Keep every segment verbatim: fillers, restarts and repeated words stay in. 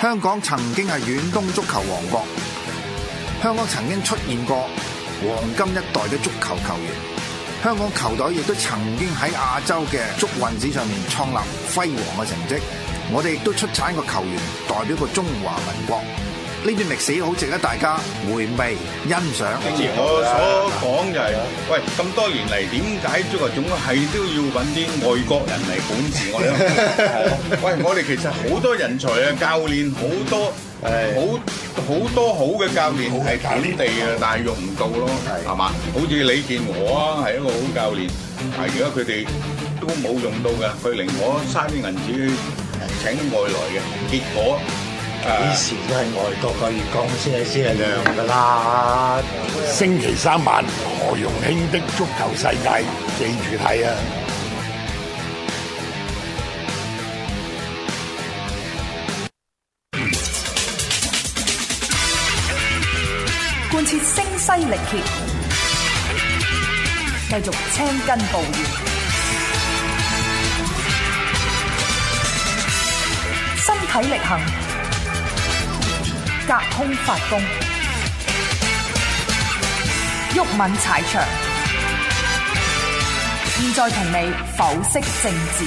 香港曾經係遠東足球王國，香港曾經出現過黃金一代嘅足球球員，香港球隊亦都曾經喺亞洲嘅足運史上面創立輝煌嘅成績。我哋亦都出產個球員代表過中華民國，呢段歷史好值得大家回味欣賞。 我所講就係、是，喂，咁多年嚟點解足球總係都要揾啲外國人嚟管治我哋？喂，我哋其實好多人才啊，教練好多，好好多好嘅教練係本地嘅，但係用唔到咯，係嘛？好似李健和啊，係一個好教練，但係而家佢哋都冇用到嘅，佢寧可嘥啲銀紙請外來嘅，結果。 以前都係外國嘅月光先係先係亮㗎啦。星期三晚何容興的足球世界，記住睇啊！ 貫徹聲嘶力竭，繼續青筋暴現，身體力行，隔空發功，毓民踩場。現在同你剖析政治。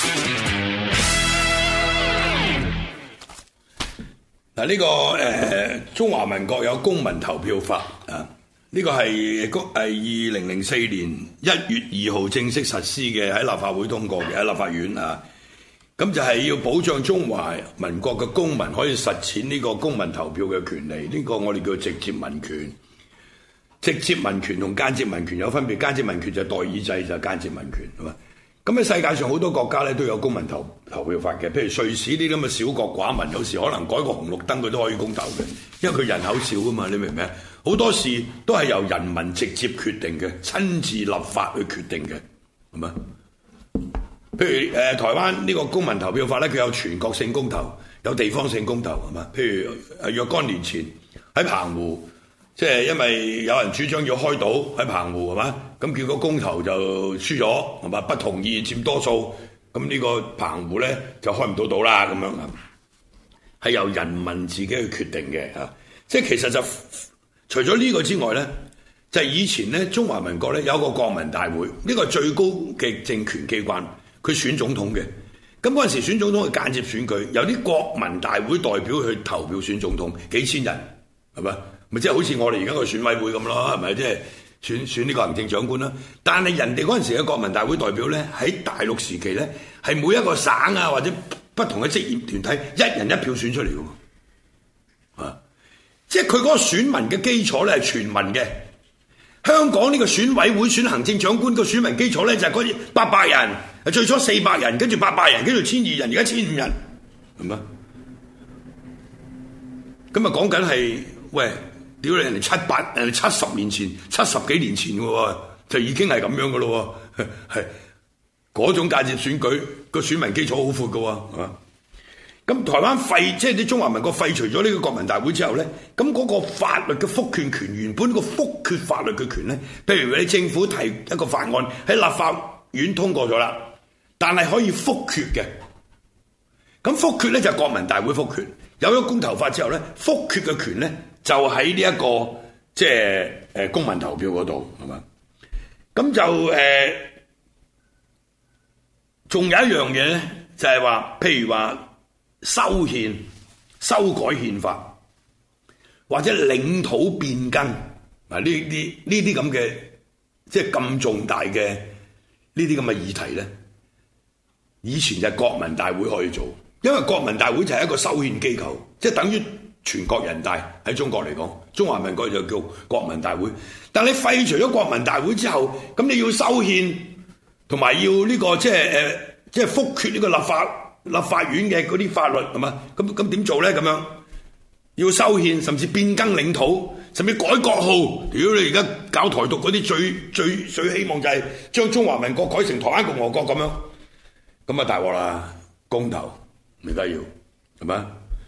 嗱，呢個誒中華民國有公民投票法啊，呢個係係二零零四年一月二號正式實施嘅，喺立法會通過嘅，喺立法院啊。咁就係要保障中華民國嘅公民可以實踐呢個公民投票嘅權利，呢個我哋叫直接民權。直接民權同間接民權有分別，間接民權就係代議制，就係間接民權，係嘛？咁喺世界上好多國家咧都有公民投投票法嘅，譬如瑞士呢啲咁嘅小國寡民，有時可能改個紅綠燈佢都可以公投嘅，因為佢人口少啊嘛，你明唔明？好多事都係由人民直接決定嘅，親自立法去決定嘅，係嘛？譬如誒、呃、台灣呢個公民投票法咧，佢有全國性公投，有地方性公投，係嘛？譬如誒若干年前喺澎湖，即係因為有人主張要開島喺澎湖，係嘛？咁結果公投就輸咗，係嘛？不同意佔多數，咁呢個澎湖咧就開唔到島啦，咁樣啊，係由人民自己去決定嘅啊！即係其實就除咗呢個之外咧，就係、是、以前咧中華民國咧有一個國民大會，呢、這個係最高嘅政權機關。佢選總統嘅，咁嗰陣時選總統係間接選舉，由啲國民大會代表去投票選總統，幾千人係咪？咪即係好似我哋而家個選委會咁咯，係咪？即係選選呢個行政長官啦。但係人哋嗰陣時嘅國民大會代表咧，喺大陸時期咧，係每一個省啊或者不同嘅職業團體一人一票選出嚟嘅，啊！即係佢嗰個選民嘅基礎咧係全民嘅。香港呢個選委會選行政長官個選民基礎咧就係嗰啲八百人。最初四百人，跟住八百人，跟住千二人，而家千五人，係咪？咁啊講緊係，喂，屌你人哋七八，人哋七十年前、七十幾年前嘅喎，就已經係咁樣嘅咯喎，係嗰種間接選舉個選民基礎好闊嘅喎，係嘛？咁台灣廢，即係啲中華民國廢除咗呢個國民大會之後咧，咁嗰個法律嘅復權權，原本個復決法律嘅權咧，譬如你政府提一個法案喺立法院通過咗啦。但係可以復決嘅，咁復決咧就係國民大會復決，有咗公投法之後咧，復決嘅權咧就喺呢一個即係誒公民投票嗰度，係嘛？咁就誒，仲、呃、有一樣嘢咧，就係、是、話，譬如話修憲、修改憲法，或者領土變更嗱，呢啲呢啲咁嘅即係咁重大嘅呢啲咁嘅議題咧。以前就係國民大會可以做，因為國民大會就係一個修憲機構，即係等於全國人大喺中國嚟講，中華民國就叫國民大會。但你廢除咗國民大會之後，咁你要修憲，同埋要呢、這個即係誒，即係復決呢個立法立法院嘅嗰啲法律係嘛？咁咁點做咧？咁樣要修憲，甚至變更領土，甚至改國號。如果你而家搞台獨嗰啲，最最最希望就係將中華民國改成台灣共和國咁樣。咁啊大鑊啦！公投而家要係嘛？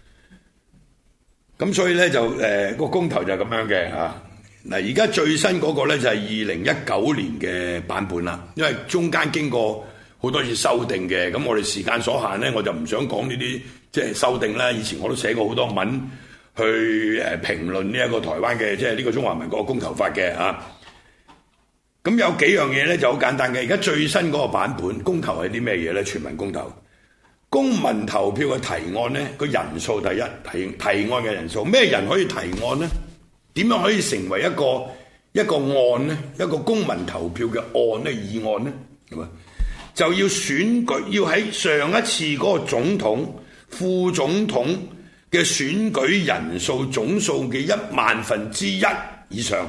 咁所以咧就誒、呃嗰個公投就係咁樣嘅嚇。嗱而家最新嗰個咧就係二零一九年嘅版本啦，因為中間經過好多次修訂嘅。咁我哋時間所限咧，我就唔想講呢啲即係修訂啦。以前我都寫過好多文去誒評論呢一個台灣嘅即係呢個中華民國公投法嘅啊。咁有幾樣嘢咧就好簡單嘅。而家最新嗰個版本公投係啲咩嘢咧？全民公投，公民投票嘅提案咧個人數第一提提案嘅人數，咩人可以提案呢？點樣可以成為一個一個案呢？一個公民投票嘅案呢？議案呢？係嘛？就要選舉，要喺上一次嗰個總統、副總統嘅選舉人數總數嘅一萬分之一以上。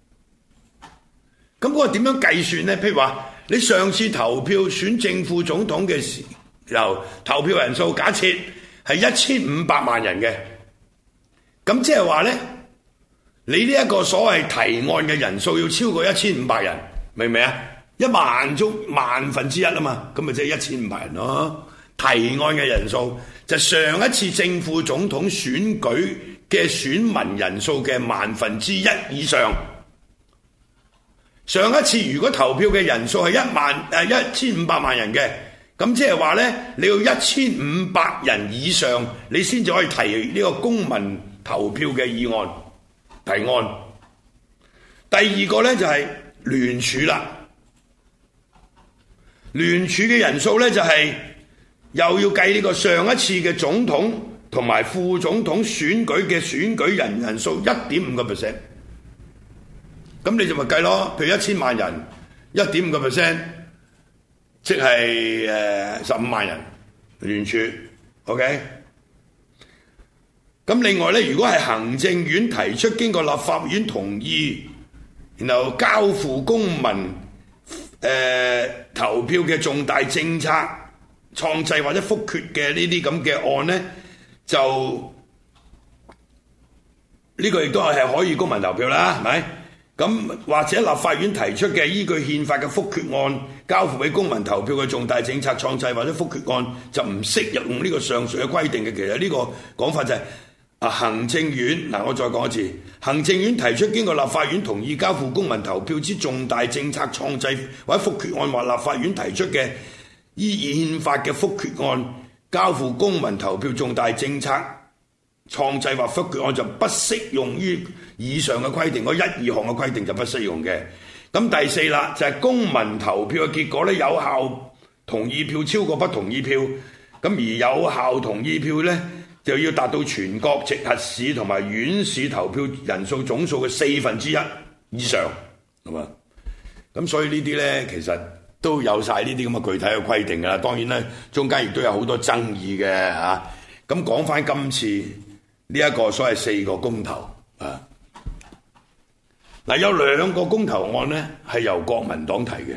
咁嗰個點樣計算呢？譬如話，你上次投票選正副總統嘅時候，投票人數假設係一千五百萬人嘅，咁即係話呢，你呢一個所謂提案嘅人數要超過一千五百人，明唔明啊？一萬中萬分之一啊嘛，咁咪即係一千五百人咯。提案嘅人數就上一次正副總統選舉嘅選民人數嘅萬分之一以上。上一次如果投票嘅人數係一萬誒一千五百萬人嘅，咁即係話呢，你要一千五百人以上，你先至可以提呢個公民投票嘅議案提案。第二個呢，就係聯署啦，聯署嘅人數呢，就係又要計呢個上一次嘅總統同埋副總統選舉嘅選舉人人數一點五個 percent。咁你就咪計咯，譬如一千萬人，一點五個 percent，即係誒十五萬人聯署 ，OK。咁另外咧，如果係行政院提出經過立法院同意，然後交付公民誒、呃、投票嘅重大政策創制或者覆決嘅呢啲咁嘅案咧，就呢、這個亦都係可以公民投票啦，係咪？咁或者立法院提出嘅依據憲法嘅覆決案交付俾公民投票嘅重大政策創制或者覆決案就唔適用呢個上述嘅規定嘅。其實呢個講法就係、是、啊行政院嗱，我再講一次，行政院提出經過立法院同意交付公民投票之重大政策創制或者覆決案，或立法院提出嘅依憲法嘅覆決案交付公民投票重大政策創制或覆決案就不適用於以上嘅規定，嗰一二項嘅規定就不適用嘅。咁第四啦，就係、是、公民投票嘅結果咧，有效同意票超過不同意票，咁而有效同意票咧就要達到全國直轄市同埋縣市投票人數總數嘅四分之一以上，係嘛？咁所以呢啲咧其實都有晒呢啲咁嘅具體嘅規定㗎啦。當然咧，中間亦都有好多爭議嘅嚇。咁講翻今次呢一個所謂四個公投啊，嗱有兩個公投案呢係由國民黨提嘅，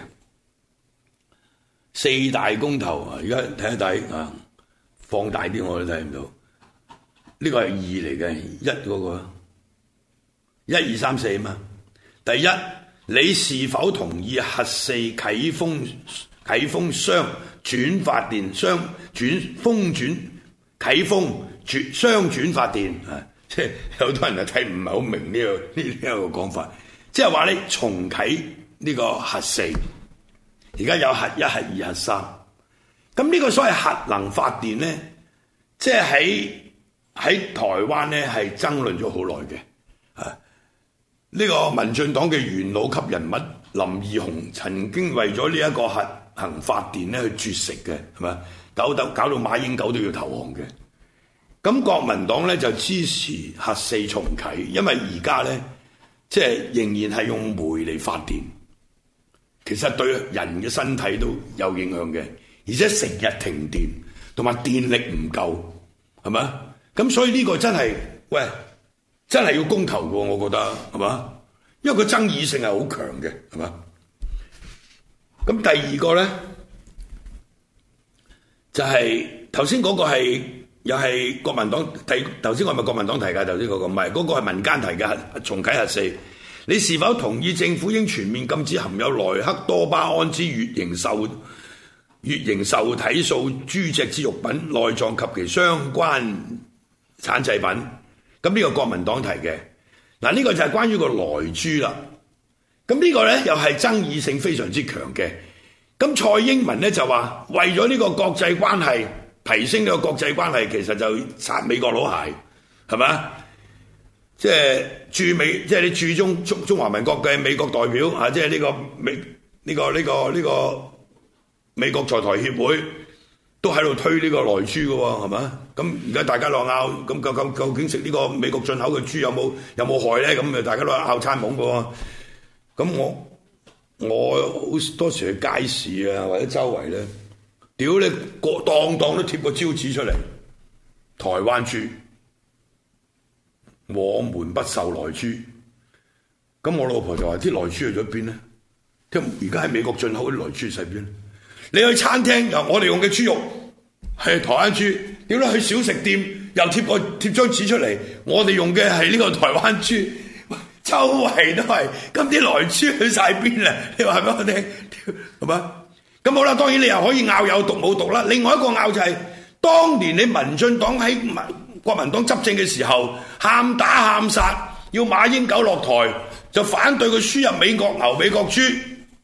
四大公投啊，而家睇一睇啊，放大啲我都睇唔到，呢個係二嚟嘅，一嗰個一二三四啊嘛。第一，你是否同意核四啟封啟封雙轉發電雙轉封轉啟封轉雙轉發電啊？即係有好多人就睇唔係好明呢、這個呢呢一個講法，即係話你重啟呢個核四，而家有核一、核二、核三，咁呢個所謂核能發電咧，即係喺喺台灣咧係爭論咗好耐嘅啊！呢、這個民進黨嘅元老級人物林義雄曾經為咗呢一個核能發電咧去絕食嘅，係咪？搞到搞到馬英九都要投降嘅。咁國民黨咧就支持核四重啟，因為而家咧即係仍然係用煤嚟發電，其實對人嘅身體都有影響嘅，而且成日停電同埋電力唔夠，係咪？咁所以呢個真係喂真係要公投嘅，我覺得係嘛？因為個爭議性係好強嘅，係嘛？咁第二個咧就係頭先嗰個係。又係國民黨提，頭先我係咪國民黨提㗎？頭先嗰個唔係，嗰個係民間提嘅重啟核四。你是否同意政府應全面禁止含有萊克多巴胺之乙型受乙型受體素豬隻之肉品、內臟及其相關產製品？咁呢個國民黨提嘅。嗱，呢個就係關於個萊豬啦。咁呢個咧又係爭議性非常之強嘅。咁蔡英文咧就話為咗呢個國際關係。 提升呢個國際關係，其實就擦美國佬鞋，係咪？即係駐美，即係你駐中中中華民國嘅美國代表啊，即係呢個美呢個呢個呢個美國在台協會都喺度推呢個萊豬嘅喎，係咪？咁而家大家落拗，咁究究究竟食呢個美國進口嘅豬有冇有冇害咧？咁誒，大家都拗餐懵嘅喎。咁我我好多時去街市啊，或者周圍咧，屌你個檔檔都貼個招紙出嚟，台灣豬，我們不售萊豬。咁我老婆就話：啲萊豬去咗邊咧？即係而家喺美國進口嗰啲萊豬喺邊？你去餐廳又我哋用嘅豬肉係台灣豬，點解去小食店又貼個貼張紙出嚟？我哋用嘅係呢個台灣豬，周圍都係，咁啲萊豬去晒邊啊？你話俾我聽，係嘛？咁好啦，當然你又可以拗有毒冇毒啦。另外一個拗就係、是，當年你民進黨喺民國民黨執政嘅時候，喊打喊殺，要馬英九落台，就反對佢輸入美國牛、美國豬。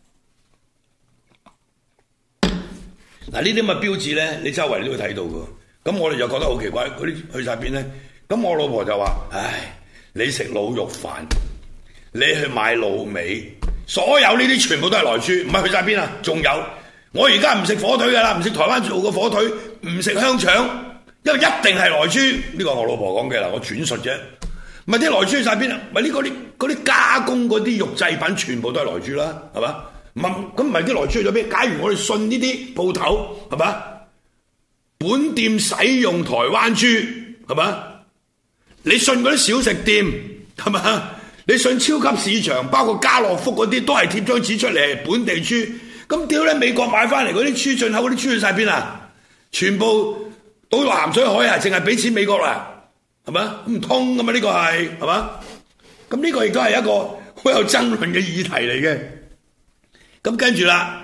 嗱，呢啲咁嘅標誌咧，你周圍都會睇到㗎。咁我哋就覺得好奇怪，嗰啲去晒邊咧？咁我老婆就話：唉，你食滷肉飯，你去買滷味，所有呢啲全部都係萊豬，唔係去晒邊啊？仲有，我而家唔食火腿㗎啦，唔食台灣做嘅火腿，唔食香腸，因為一定係萊豬。呢個我老婆講嘅啦，我轉述啫。唔係啲萊豬去晒邊啊？咪呢嗰啲嗰啲加工嗰啲肉製品，全部都係萊豬啦，係嘛？唔係咁，唔係啲萊豬去咗邊？假如我哋信呢啲鋪頭，係嘛？本店使用台灣豬，係嘛？你信嗰啲小食店，係嘛？你信超級市場，包括家樂福嗰啲，都係貼張紙出嚟，本地豬。咁屌你美國買翻嚟嗰啲豬，進口嗰啲豬去晒邊啊？全部倒落鹹水海啊！淨係俾錢美國啦，係嘛？唔通㗎嘛？呢個係係嘛？咁呢個亦都係一個好有爭論嘅議題嚟嘅。咁跟住啦，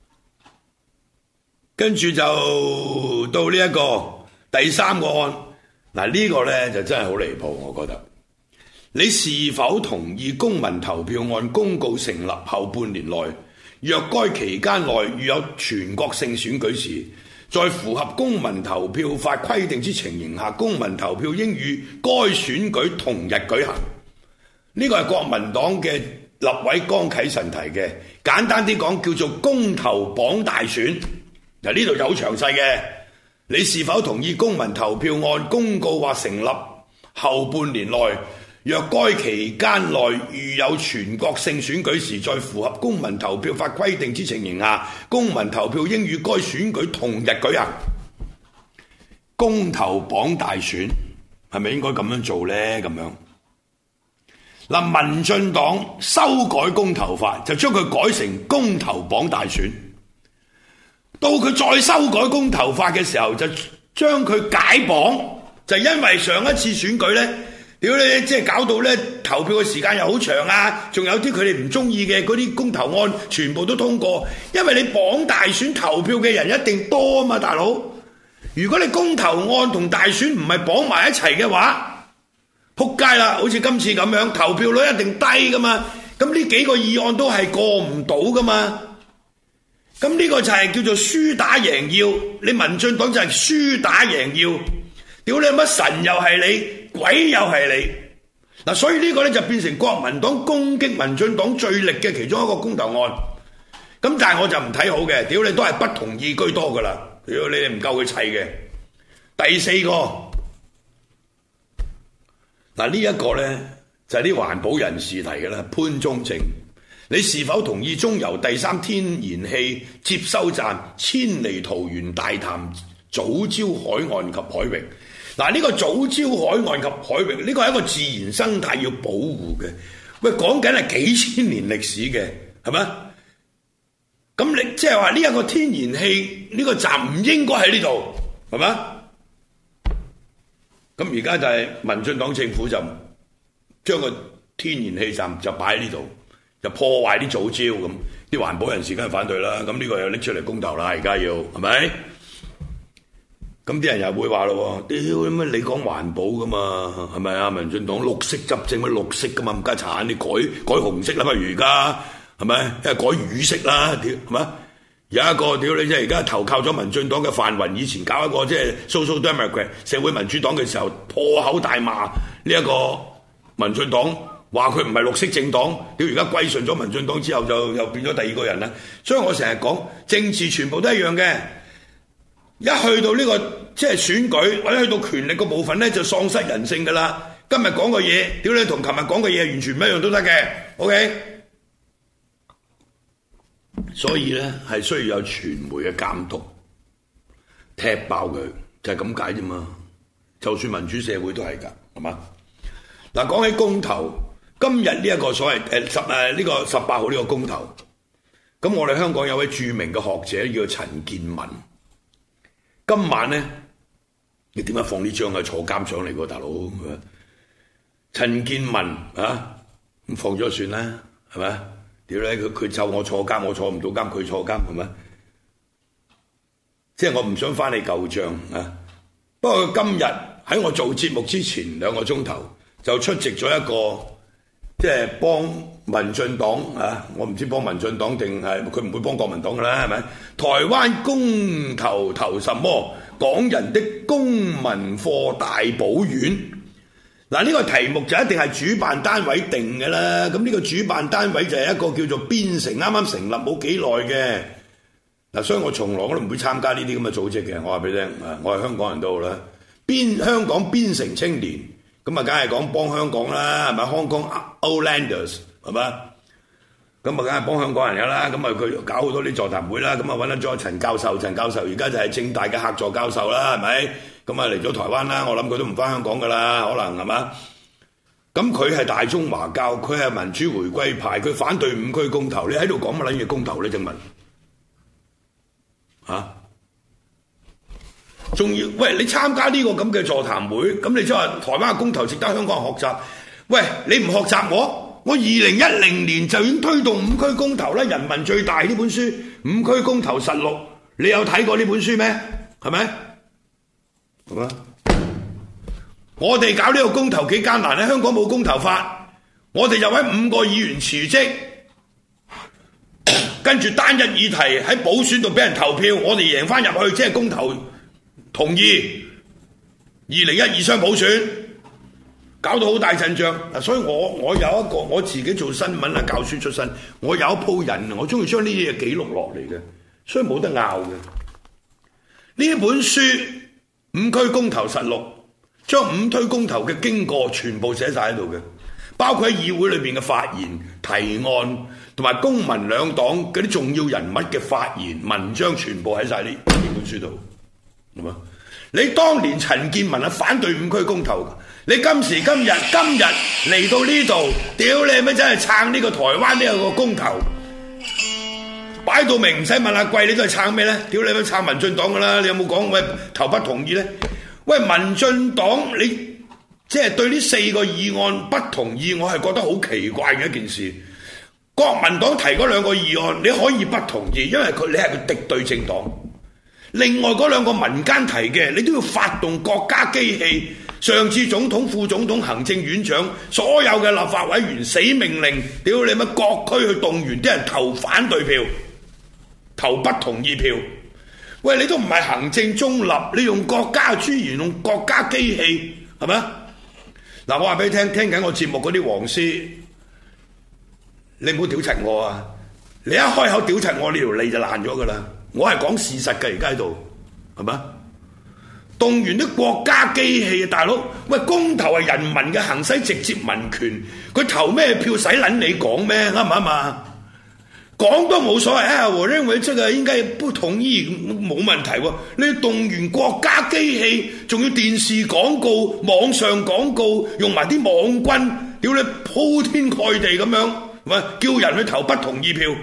跟住就到呢一個第三個案。嗱，呢個呢就真係好離譜，我覺得。你是否同意公民投票案公告成立後半年內，若該期間內遇有全國性選舉時，在符合公民投票法規定之情形下，公民投票應與該選舉同日舉行。呢個係國民黨嘅立委江啟臣提嘅，簡單啲講叫做公投綁大選。嗱，呢度就好詳細嘅。你是否同意公民投票案公告或成立後半年內，若該期間內遇有全國性選舉時，在符合公民投票法規定之情形下，公民投票應與該選舉同日舉行。公投綁大選係咪應該咁樣做呢？咁樣嗱，民進黨修改公投法，就將佢改成公投綁大選。到佢再修改公投法嘅時候，就將佢解綁，就因為上一次選舉呢，屌你，即係搞到呢投票嘅時間又好長啊，仲有啲佢哋唔中意嘅嗰啲公投案全部都通過，因為你綁大選投票嘅人一定多啊嘛，大佬。如果你公投案同大選唔係綁埋一齊嘅話，撲街啦！好似今次咁樣，投票率一定低噶嘛，咁呢幾個議案都係過唔到噶嘛。咁呢個就係叫做輸打贏要，你民進黨就係輸打贏要，屌你乜神又係你，鬼又係你，嗱，所以呢個咧就變成國民黨攻擊民進黨最力嘅其中一個公投案。咁但係我就唔睇好嘅，屌你都係不同意居多噶啦，如果你哋唔夠佢砌嘅。第四個，嗱呢一個咧就係啲環保人士提嘅啦，潘忠政。你是否同意中油第三天然氣接收站遷離桃園大潭藻礁海岸及海域？嗱，呢個藻礁海岸及海域呢個係一個自然生態要保護嘅。喂，講緊係幾千年歷史嘅，係咪？咁你即係話呢一個天然氣呢個站唔應該喺呢度，係咪？咁而家就係民進黨政府就將個天然氣站就擺喺呢度。就破壞啲藻礁咁，啲環保人士梗係反對啦。咁呢個又拎出嚟公投啦，而家要係咪？咁啲人又會話咯，屌乜你講環保噶嘛？係咪啊？民進黨綠色執政乜綠色噶嘛？唔加產你改改紅色啦嘛？而家係咪？因為改乳色啦，屌係咪？ 有一個屌你即係而家投靠咗民進黨嘅范雲，以前搞一個即係 Social Democrat 社會民主黨嘅時候，破口大罵呢一個民進黨，話佢唔係綠色政黨，屌而家歸順咗民進黨之後就又變咗第二個人啦。所以我成日講政治全部都一樣嘅，一去到呢個即係選舉或者去到權力個部分咧，就喪失人性噶啦。今日講嘅嘢，屌你同琴日講嘅嘢完全唔一樣都得嘅 ，OK？ 所以咧係需要有傳媒嘅監督，踢爆佢就係咁解啫嘛。就算民主社會都係㗎，係嘛？嗱，講起公投，今日呢一個所謂誒十誒呢個十八號呢個公投，咁我哋香港有位著名嘅學者叫陳健民，今晚咧你點解放呢張啊坐監上嚟喎，大佬？陳健民啊，咁放咗算啦，係咪？屌咧，佢佢就我坐監，我坐唔到監，佢坐監係咪？即係我唔想翻你舊帳啊！不過今日喺我做節目之前兩個鐘頭就出席咗一個即係幫民進黨啊，我唔知幫民進黨定係佢唔會幫國民黨㗎啦，係咪？台灣公投投什麼？港人的公民課大補丸。嗱，呢個題目就一定係主辦單位定嘅啦。咁呢個主辦單位就係一個叫做邊城，啱啱成立冇幾耐嘅。嗱，所以我從來我都唔會參加呢啲咁嘅組織嘅。我話俾你聽，啊，我係香港人都好啦。邊香港邊城青年，咁啊，梗係講幫香港啦，係咪？香港 Outlanders 係嘛？咁啊，梗係幫香港人㗎啦。咁啊，佢搞好多啲座談會啦。咁啊，揾咗陳教授，陳教授而家就係政大嘅客座教授啦，係咪？咁啊嚟咗台灣啦，我諗佢都唔返香港㗎啦，可能係嘛？咁佢係大中華教，佢係民主回歸派，佢反對五區公投。你喺度講乜撚嘢公投咧？正問嚇，仲要喂你參加呢個咁嘅座談會，咁你即係話台灣嘅公投值得香港人學習？喂，你唔學習我，我二零一零年就已經推動五區公投啦，人民最大呢本書《五區公投實錄》，你有睇過呢本書咩？係咪？係嘛？我哋搞呢個公投幾艱難咧？香港冇公投法，我哋就揾五個議員辭職，跟住單一議題喺補選度俾人投票，我哋贏翻入去，即係公投同意二零一二雙補選，搞到好大陣仗。嗱，所以我我有一個我自己做新聞啊教書出身，我有一鋪人，我中意將呢啲嘢記錄落嚟嘅，所以冇得拗嘅。呢本書五區公投實錄，將五區公投嘅經過全部寫晒喺度嘅，包括喺議會裏邊嘅發言、提案同埋公民兩黨嗰啲重要人物嘅發言文章，全部喺晒呢呢本書度，係嘛？你當年陳健民係反對五區公投，你今時今日今日嚟到呢度，屌你咪真係撐呢個台灣呢個公投，擺到明唔使問阿貴，你都係撐咩咧？屌你咪撐民進黨噶啦，你有冇講喂投不同意咧？喂，民進黨你即係對呢四個議案不同意，我係覺得好奇怪嘅一件事。國民黨提嗰兩個議案，你可以不同意，因為佢你係個敵對政黨。另外嗰兩個民間提嘅，你都要發動國家機器，上至總統、副總統、行政院長，所有嘅立法委員死命令，屌你乜各區去動員啲人投反對票，投不同意票。喂，你都唔係行政中立，你用國家資源，用國家機器，係咪？嗱，我話俾你聽，聽緊我節目嗰啲黃絲，你唔好屌柒我啊！你一開口屌柒我，呢條脷就爛咗噶啦！我係講事實嘅，而家喺度，係咪？動員啲國家機器啊，大佬！喂，公投係人民嘅行使直接民權，佢投咩票使撚你講咩？啱唔啱啊？講都冇所謂啊！我認為這個應該不同意，冇問題喎。你動員國家機器，仲要電視廣告、網上廣告，用埋啲網軍，屌你鋪天蓋地咁樣，係咪叫人去投不同意票？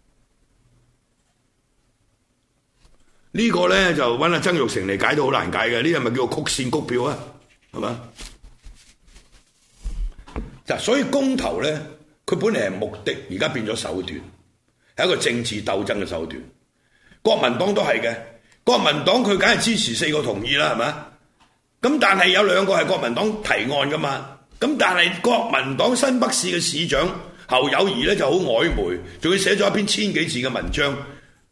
呢個咧就揾阿曾鈺成嚟解都好難解嘅，呢個咪叫做曲線谷票啊，係嘛？嗱，所以公投咧，佢本嚟係目的，而家變咗手段。係一個政治鬥爭嘅手段，國民黨都係嘅。國民黨佢梗係支持四個同意啦，係咪？咁但係有兩個係國民黨提案噶嘛。咁但係國民黨新北市嘅市長侯友宜咧就好曖昧，仲要寫咗一篇千幾字嘅文章，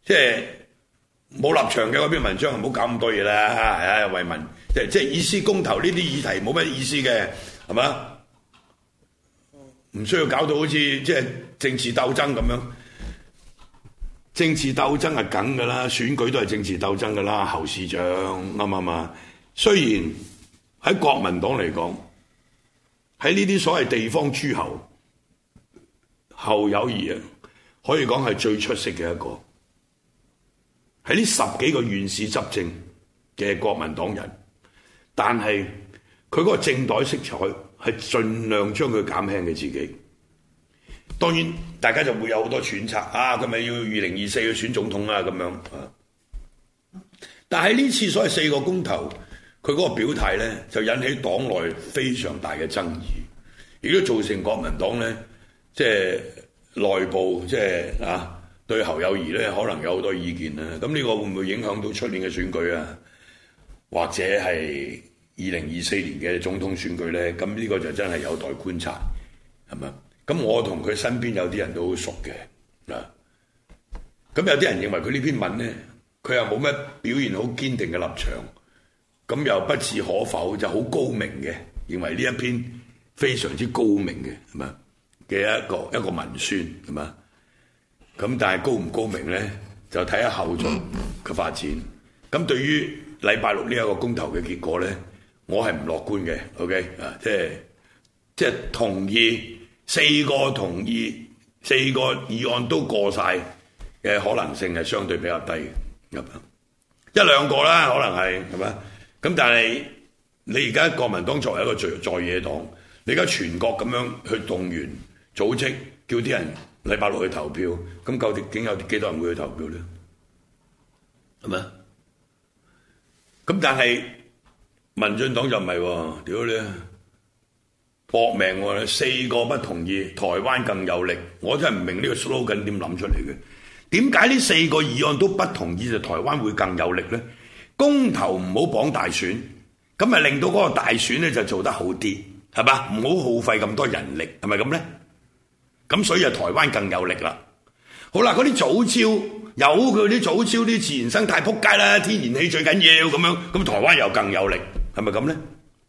即係冇立場嘅嗰篇文章，唔好搞咁多嘢啦，係啊，為民即係即係意思公投呢啲議題冇乜意思嘅，係嘛？唔需要搞到好似即係政治鬥爭咁樣。政治鬥爭係梗㗎啦，選舉都係政治鬥爭㗎啦，侯市長啱唔啱啊？雖然喺國民黨嚟講，喺呢啲所謂地方諸侯，侯友宜啊，可以講係最出色嘅一個。喺呢十幾個縣市執政嘅國民黨人，但係佢嗰個政黨色彩係盡量將佢減輕嘅自己。當然，大家就會有好多揣測啊！佢咪要二零二四去選總統啊？咁樣啊！但係呢次所謂四個公投，佢嗰個表態咧，就引起黨內非常大嘅爭議，亦都造成國民黨咧，即係內部即係啊，對侯友宜咧可能有好多意見啦。咁呢個會唔會影響到出年嘅選舉啊？或者係二零二四年嘅總統選舉咧？咁呢個就真係有待觀察，係咪？咁我同佢身邊有啲人都好熟嘅，嗱，咁有啲人認為佢呢篇文咧，佢又冇乜表現好堅定嘅立場，咁又不置可否，就好高明嘅，認為呢一篇非常之高明嘅，係嘛嘅一個一個文宣，係嘛，咁但係高唔高明咧，就睇下後續嘅發展。咁對於禮拜六呢一個公投嘅結果咧，我係唔樂觀嘅 ，OK 啊，即係即係同意。四個同意，四個議案都過晒嘅可能性係相對比較低嘅，一兩個啦，可能係係咪？咁但係你而家國民黨作為一個在在野黨，你而家全國咁樣去動員組織，叫啲人禮拜六去投票，咁究竟有幾多人會去投票咧？係咪？咁但係民進黨就唔係喎，屌你！搏命喎！四個不同意，台灣更有力。我真係唔明呢個 slogan 點諗出嚟嘅？點解呢四個議案都不同意就台灣會更有力呢？公投唔好綁大選，咁咪令到嗰個大選咧就做得好啲，係嘛？唔好耗費咁多人力，係咪咁呢？咁所以就台灣更有力啦。好啦，嗰啲藻礁有佢啲藻礁啲自然生態撲街啦，天然氣最緊要咁樣，咁台灣又更有力，係咪咁呢？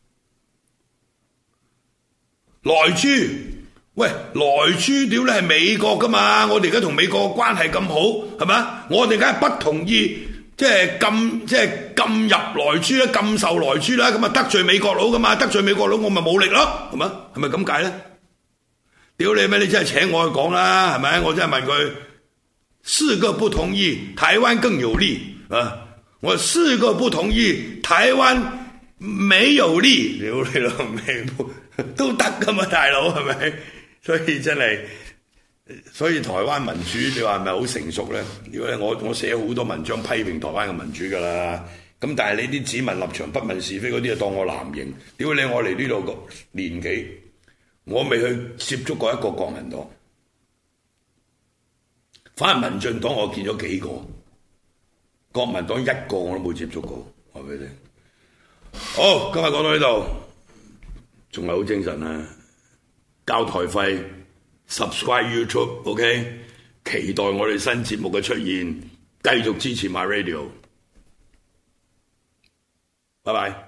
萊豬，喂，萊豬屌你係美國噶嘛？我哋而家同美國關係咁好，係咪？我哋梗係不同意，即係禁，即係禁入萊豬啦，禁售萊豬啦，咁啊得罪美國佬噶嘛？得罪美國佬，我咪冇力咯，係咪？係咪咁解咧？屌你咩？你真係請我去講啦，係咪？我真係問佢，四個不同意，台灣更有利啊！我四個不同意，台灣沒有利，屌你老味！都得噶嘛，大佬係咪？所以真係，所以台灣民主你話係咪好成熟咧？如果我我寫好多文章批評台灣嘅民主噶啦，咁但係你啲只問立場不問是非嗰啲，就當我藍營。屌你！我嚟呢度個年紀，我未去接觸過一個國民黨，反而民進黨我見咗幾個，國民黨一個我都冇接觸過。話俾你聽。好，今日講到呢度。仲係好精神啊！交台費 ，subscribe YouTube，OK， 期待我哋新節目嘅出現，繼續支持 My Radio，拜拜。